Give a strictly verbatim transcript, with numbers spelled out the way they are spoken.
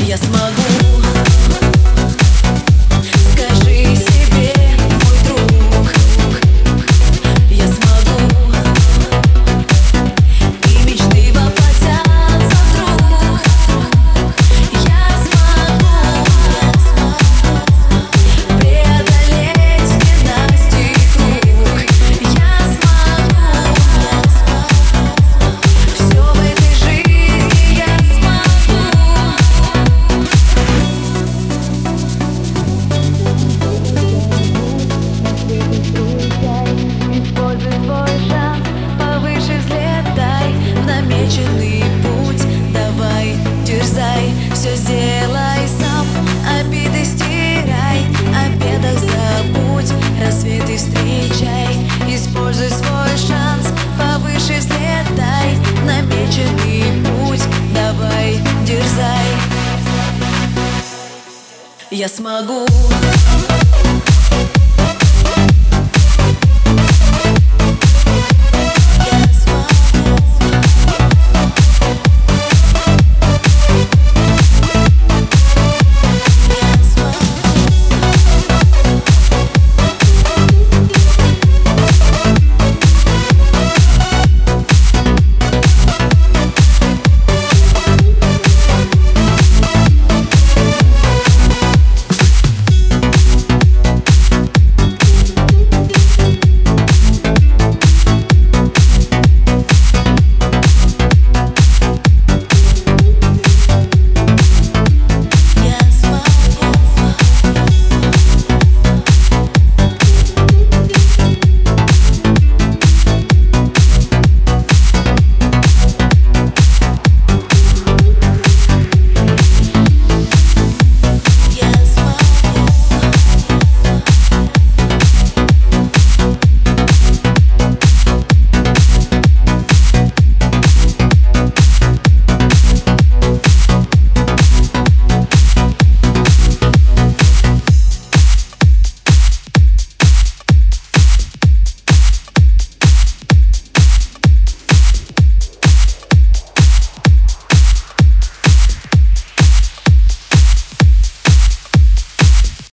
Я смогу. Скажи себе, мой друг, я смогу. И мечты воплотятся вдруг. Я смогу преодолеть ненастий круг. Я смогу все в этой жизни. Я смогу. Используй свой шанс, повыше взлетай в намеченный путь. Давай, дерзай, все сделай сам. Обиды стирай, о бедах забудь, рассветы встречай. Используй свой шанс, повыше взлетай в намеченный путь. Давай, дерзай, я смогу.